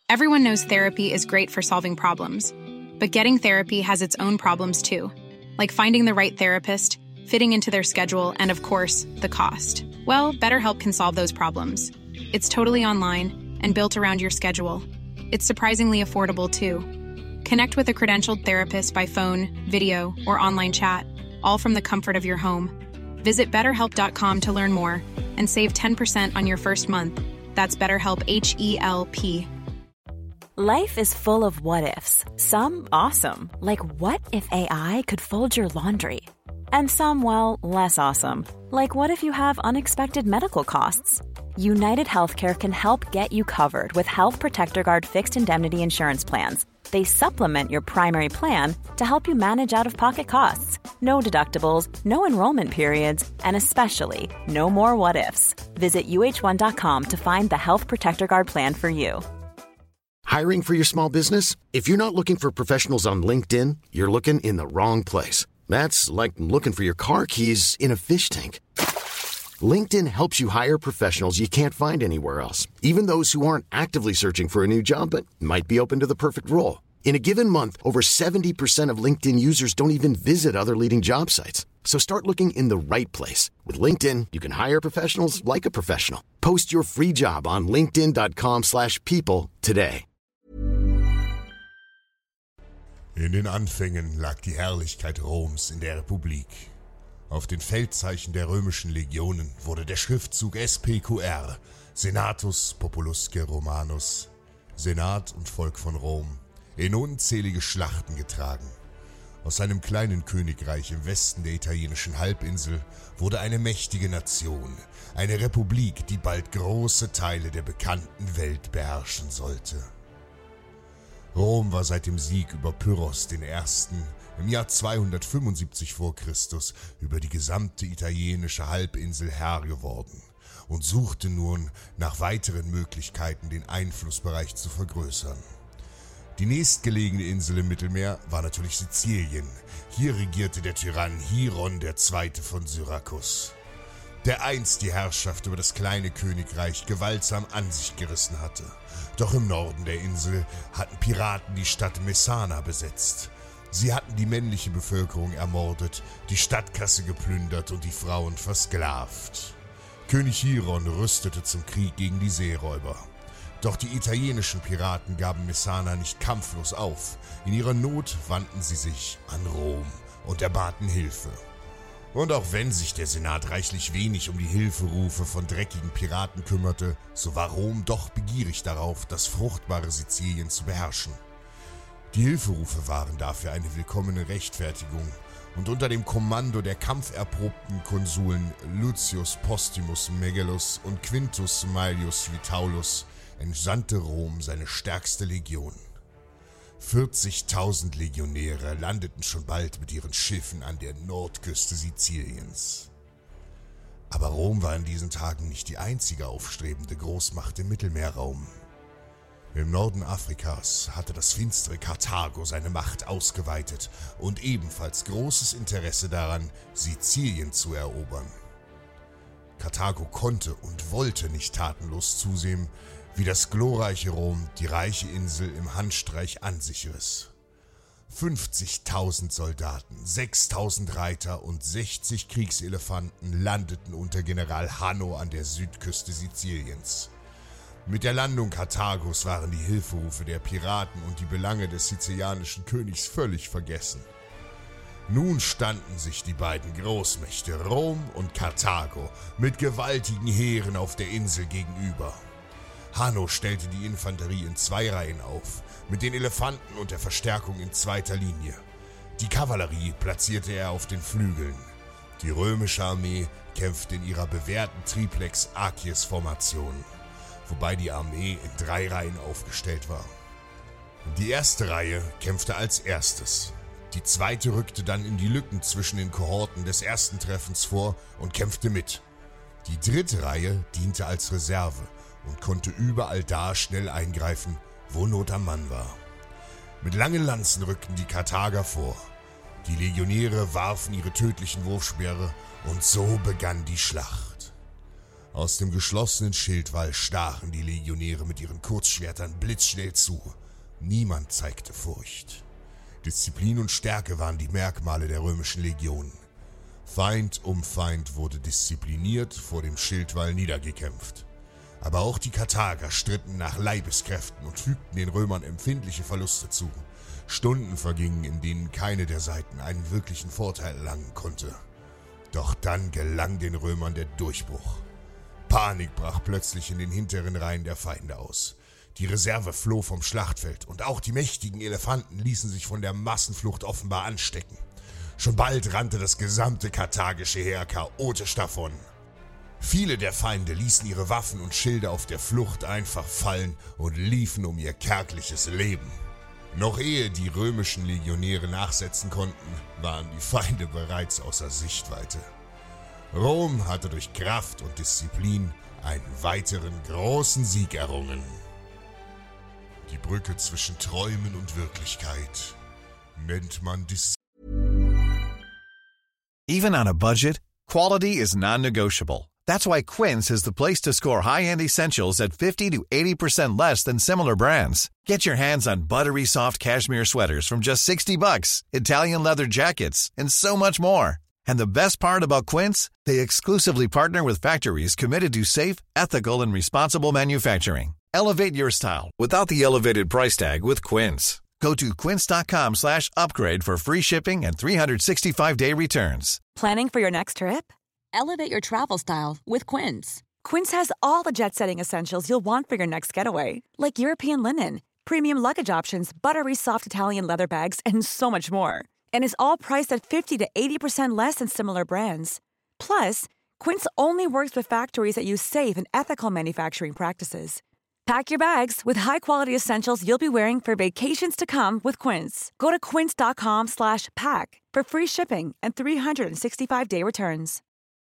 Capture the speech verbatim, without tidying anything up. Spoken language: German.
Everyone knows therapy is great for solving problems, but getting therapy has its own problems too, like finding the right therapist, fitting into their schedule, and of course, the cost. Well, BetterHelp can solve those problems. It's totally online and built around your schedule. It's surprisingly affordable too. Connect with a credentialed therapist by phone, video, or online chat, all from the comfort of your home. Visit better help dot com to learn more and save ten percent on your first month. That's BetterHelp, H E L P. Life is full of what-ifs. Some awesome, like what if A I could fold your laundry? And some, well, less awesome, like what if you have unexpected medical costs? United Healthcare can help get you covered with Health Protector Guard fixed indemnity insurance plans. They supplement your primary plan to help you manage out-of-pocket costs. No deductibles, no enrollment periods, and especially no more what-ifs. Visit U H one dot com to find the Health Protector Guard plan for you. Hiring for your small business? If you're not looking for professionals on LinkedIn, you're looking in the wrong place. That's like looking for your car keys in a fish tank. LinkedIn helps you hire professionals you can't find anywhere else, even those who aren't actively searching for a new job but might be open to the perfect role. In a given month, over seventy percent of LinkedIn users don't even visit other leading job sites. So start looking in the right place. With LinkedIn, you can hire professionals like a professional. Post your free job on linkedin dot com slash people today. In den Anfängen lag die Herrlichkeit Roms in der Republik. Auf den Feldzeichen der römischen Legionen wurde der Schriftzug S P Q R, Senatus Populusque Romanus, Senat und Volk von Rom, in unzählige Schlachten getragen. Aus einem kleinen Königreich im Westen der italienischen Halbinsel wurde eine mächtige Nation, eine Republik, die bald große Teile der bekannten Welt beherrschen sollte. Rom war seit dem Sieg über Pyrrhos den Ersten im Jahr zweihundertfünfundsiebzig vor Christus über die gesamte italienische Halbinsel Herr geworden und suchte nun nach weiteren Möglichkeiten, den Einflussbereich zu vergrößern. Die nächstgelegene Insel im Mittelmeer war natürlich Sizilien. Hier regierte der Tyrann Hieron der Zweite von Syrakus, der einst die Herrschaft über das kleine Königreich gewaltsam an sich gerissen hatte. Doch im Norden der Insel hatten Piraten die Stadt Messana besetzt. Sie hatten die männliche Bevölkerung ermordet, die Stadtkasse geplündert und die Frauen versklavt. König Hieron rüstete zum Krieg gegen die Seeräuber. Doch die italienischen Piraten gaben Messana nicht kampflos auf. In ihrer Not wandten sie sich an Rom und erbaten Hilfe. Und auch wenn sich der Senat reichlich wenig um die Hilferufe von dreckigen Piraten kümmerte, so war Rom doch begierig darauf, das fruchtbare Sizilien zu beherrschen. Die Hilferufe waren dafür eine willkommene Rechtfertigung, und unter dem Kommando der kampferprobten Konsuln Lucius Postumus Megellus und Quintus Maelius Vitaulus entsandte Rom seine stärkste Legion. vierzigtausend Legionäre landeten schon bald mit ihren Schiffen an der Nordküste Siziliens. Aber Rom war in diesen Tagen nicht die einzige aufstrebende Großmacht im Mittelmeerraum. Im Norden Afrikas hatte das finstere Karthago seine Macht ausgeweitet und ebenfalls großes Interesse daran, Sizilien zu erobern. Karthago konnte und wollte nicht tatenlos zusehen, wie das glorreiche Rom die reiche Insel im Handstreich an sich riss. fünfzigtausend Soldaten, sechstausend Reiter und sechzig Kriegselefanten landeten unter General Hanno an der Südküste Siziliens. Mit der Landung Karthagos waren die Hilferufe der Piraten und die Belange des sizilianischen Königs völlig vergessen. Nun standen sich die beiden Großmächte Rom und Karthago mit gewaltigen Heeren auf der Insel gegenüber. Hanno stellte die Infanterie in zwei Reihen auf, mit den Elefanten und der Verstärkung in zweiter Linie. Die Kavallerie platzierte er auf den Flügeln. Die römische Armee kämpfte in ihrer bewährten Triplex-Acies-Formation, wobei die Armee in drei Reihen aufgestellt war. Die erste Reihe kämpfte als erstes. Die zweite rückte dann in die Lücken zwischen den Kohorten des ersten Treffens vor und kämpfte mit. Die dritte Reihe diente als Reserve und konnte überall da schnell eingreifen, wo Not am Mann war. Mit langen Lanzen rückten die Karthager vor. Die Legionäre warfen ihre tödlichen Wurfspeere und so begann die Schlacht. Aus dem geschlossenen Schildwall stachen die Legionäre mit ihren Kurzschwertern blitzschnell zu. Niemand zeigte Furcht. Disziplin und Stärke waren die Merkmale der römischen Legionen. Feind um Feind wurde diszipliniert vor dem Schildwall niedergekämpft. Aber auch die Karthager stritten nach Leibeskräften und fügten den Römern empfindliche Verluste zu. Stunden vergingen, in denen keine der Seiten einen wirklichen Vorteil erlangen konnte. Doch dann gelang den Römern der Durchbruch. Panik brach plötzlich in den hinteren Reihen der Feinde aus. Die Reserve floh vom Schlachtfeld und auch die mächtigen Elefanten ließen sich von der Massenflucht offenbar anstecken. Schon bald rannte das gesamte karthagische Heer chaotisch davon. Viele der Feinde ließen ihre Waffen und Schilde auf der Flucht einfach fallen und liefen um ihr kärgliches Leben. Noch ehe die römischen Legionäre nachsetzen konnten, waren die Feinde bereits außer Sichtweite. Rom hatte durch Kraft und Disziplin einen weiteren großen Sieg errungen. Die Brücke zwischen Träumen und Wirklichkeit nennt man Disziplin. Even on a budget, quality is non-negotiable. That's why Quince is the place to score high-end essentials at fifty to eighty percent less than similar brands. Get your hands on buttery soft cashmere sweaters from just sixty bucks, Italian leather jackets, and so much more. And the best part about Quince, they exclusively partner with factories committed to safe, ethical, and responsible manufacturing. Elevate your style without the elevated price tag with Quince. Go to quince.com slash upgrade for free shipping and three sixty-five day returns. Planning for your next trip? Elevate your travel style with Quince. Quince has all the jet-setting essentials you'll want for your next getaway, like European linen, premium luggage options, buttery soft Italian leather bags, and so much more. And is all priced at fifty to eighty percent less than similar brands. Plus, Quince only works with factories that use safe and ethical manufacturing practices. Pack your bags with high-quality essentials you'll be wearing for vacations to come with Quince. Go to quince.com slash pack for free shipping and three sixty-five day returns.